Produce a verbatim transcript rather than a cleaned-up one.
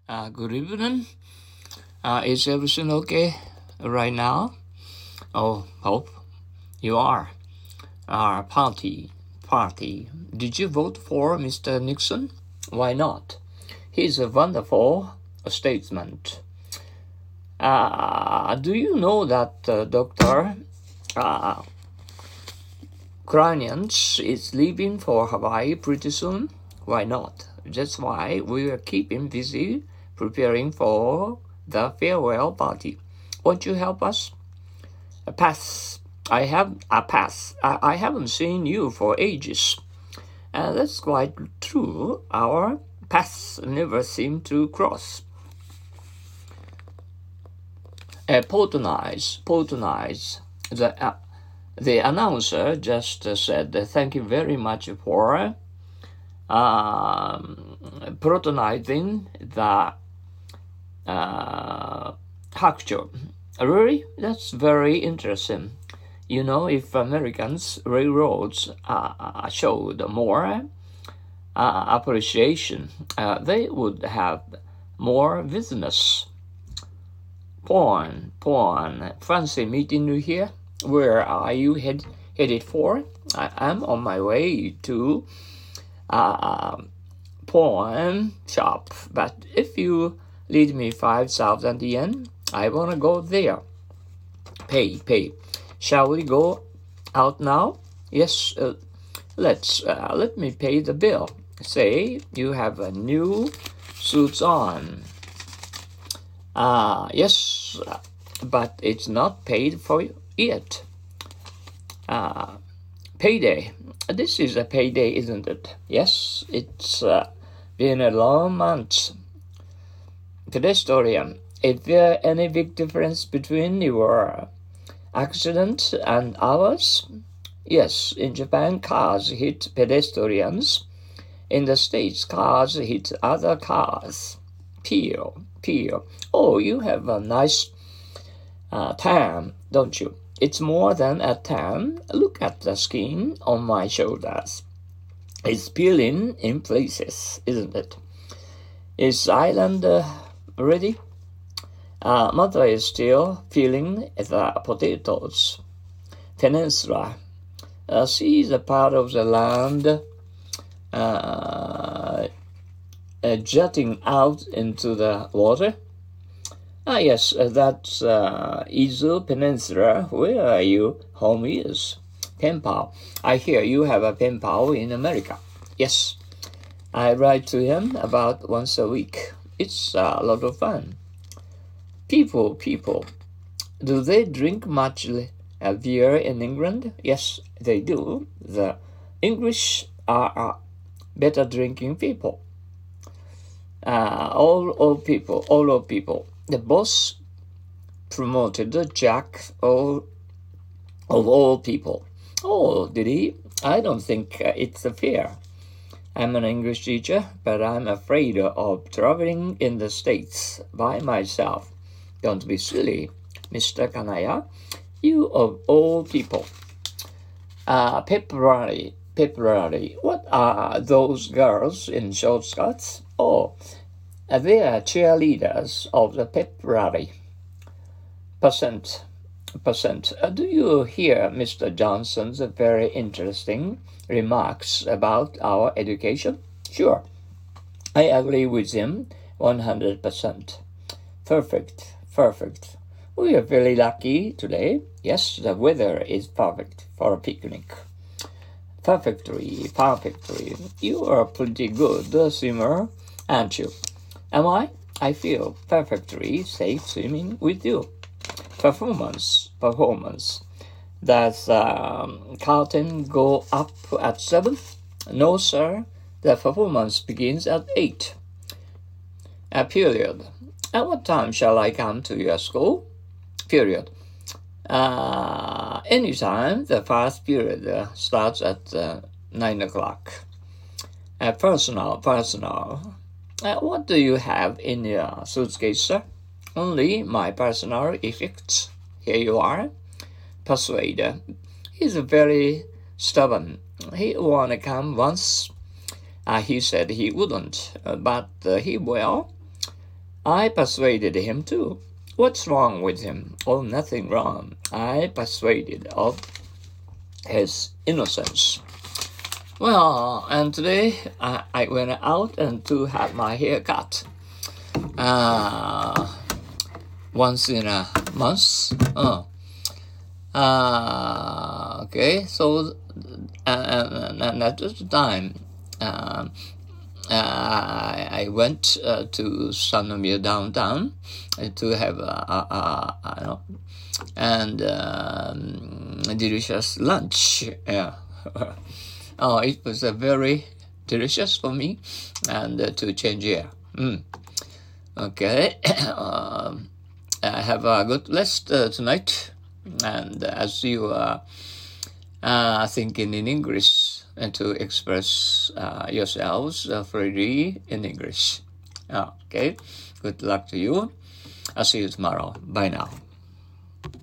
Uh, good evening. Uh, is everything okay right now? Oh, hope you are. Our party, party. Did you vote for Mister Nixon? Why not? He's a wonderful statesman. Uh, do you know that uh, Doctor Uh, Kranians is leaving for Hawaii pretty soon? Why not? That's why we will keep him busy preparing for the farewell party. Won't you help us? A pass. I have a pass. I, I haven't seen you for ages. And that's quite true. Our paths never seem to cross. Uh, patronize, patronize. The, uh, the announcer just uh, said, thank you very much for uh, patronizing the uh, hakucho. Really? That's very interesting. You know, if Americans' railroads uh, showed more uh, appreciation, uh, they would have more business. Porn, porn. Fancy meeting you here. Where are you head, headed for? I am on my way to uh, porn shop. But if you lead me five thousand yen, I wanna go there. Pay, pay. Shall we go out now? Yes. Uh, let's. Uh, let me pay the bill. Say you have a new suits on. Ah, uh, yes, but it's not paid for yet. Uh, payday. This is a payday, isn't it? Yes, it's uh, been a long month. Pedestrian, is there any big difference between your accident and ours? Yes, in Japan, cars hit pedestrians. In the States, cars hit other cars. Peel. Peel. Oh, you have a nice uh, tan, don't you? It's more than a tan. Look at the skin on my shoulders. It's peeling in places, isn't it? Is island uh, ready? Uh, mother is still peeling the potatoes. Peninsula. Uh, see the part of the land uh, Uh, jutting out into the water? Ah, yes, uh, that's uh, Izu Peninsula, where your home is. Pen pal. I hear you have a pen pal in America. Yes, I write to him about once a week. It's a lot of fun. People, people, do they drink much uh, beer in England? Yes, they do. The English are uh, better drinking people. Uh, all old people, all old people. The boss promoted Jack all, of all people. Oh, did he? I don't think uh, it's fair. I'm an English teacher, but I'm afraid of traveling in the States by myself. Don't be silly, Mister Kanaya. You of all people. Uh, pep rally, pep rally. What are those girls in short skirts? Oh, they are cheerleaders of the pep rally. Percent, percent. Uh, do you hear Mister Johnson's very interesting remarks about our education? Sure. I agree with him one hundred percent. Perfect, perfect. We are very lucky today. Yes, the weather is perfect for a picnic. Perfectly, perfectly. You are pretty good swimmer, aren't you? Am I? I feel perfectly safe swimming with you. Performance, performance. Does um, curtain go up at seven? No, sir. The performance begins at eight. A period. At what time shall I come to your school? Period. Uh, anytime. The first period uh, starts at uh, nine o'clock. Uh, personal, personal. Uh, what do you have in your suitcase, sir? Only my personal effects. Here you are. Persuader. He's very stubborn. He wanna come once. Uh, he said he wouldn't, uh, but uh, he will. I persuaded him too. What's wrong with him? Oh, nothing wrong. I persuaded of his innocence. Well, and today I, I went out and to have my hair cut. Uh, once in a month. Uh, uh, okay, so uh, and at the time, uh, uh, I, I went uh, to Sanomia downtown to have a, a, a, a you know, and um, a delicious lunch. Yeah. Oh, it was a very delicious for me, and uh, to change air. Mm. Okay, um, I have a good rest uh, tonight, and as you are uh, thinking in English, and to express uh, yourselves uh, freely in English. Okay, good luck to you. I'll see you tomorrow. Bye now.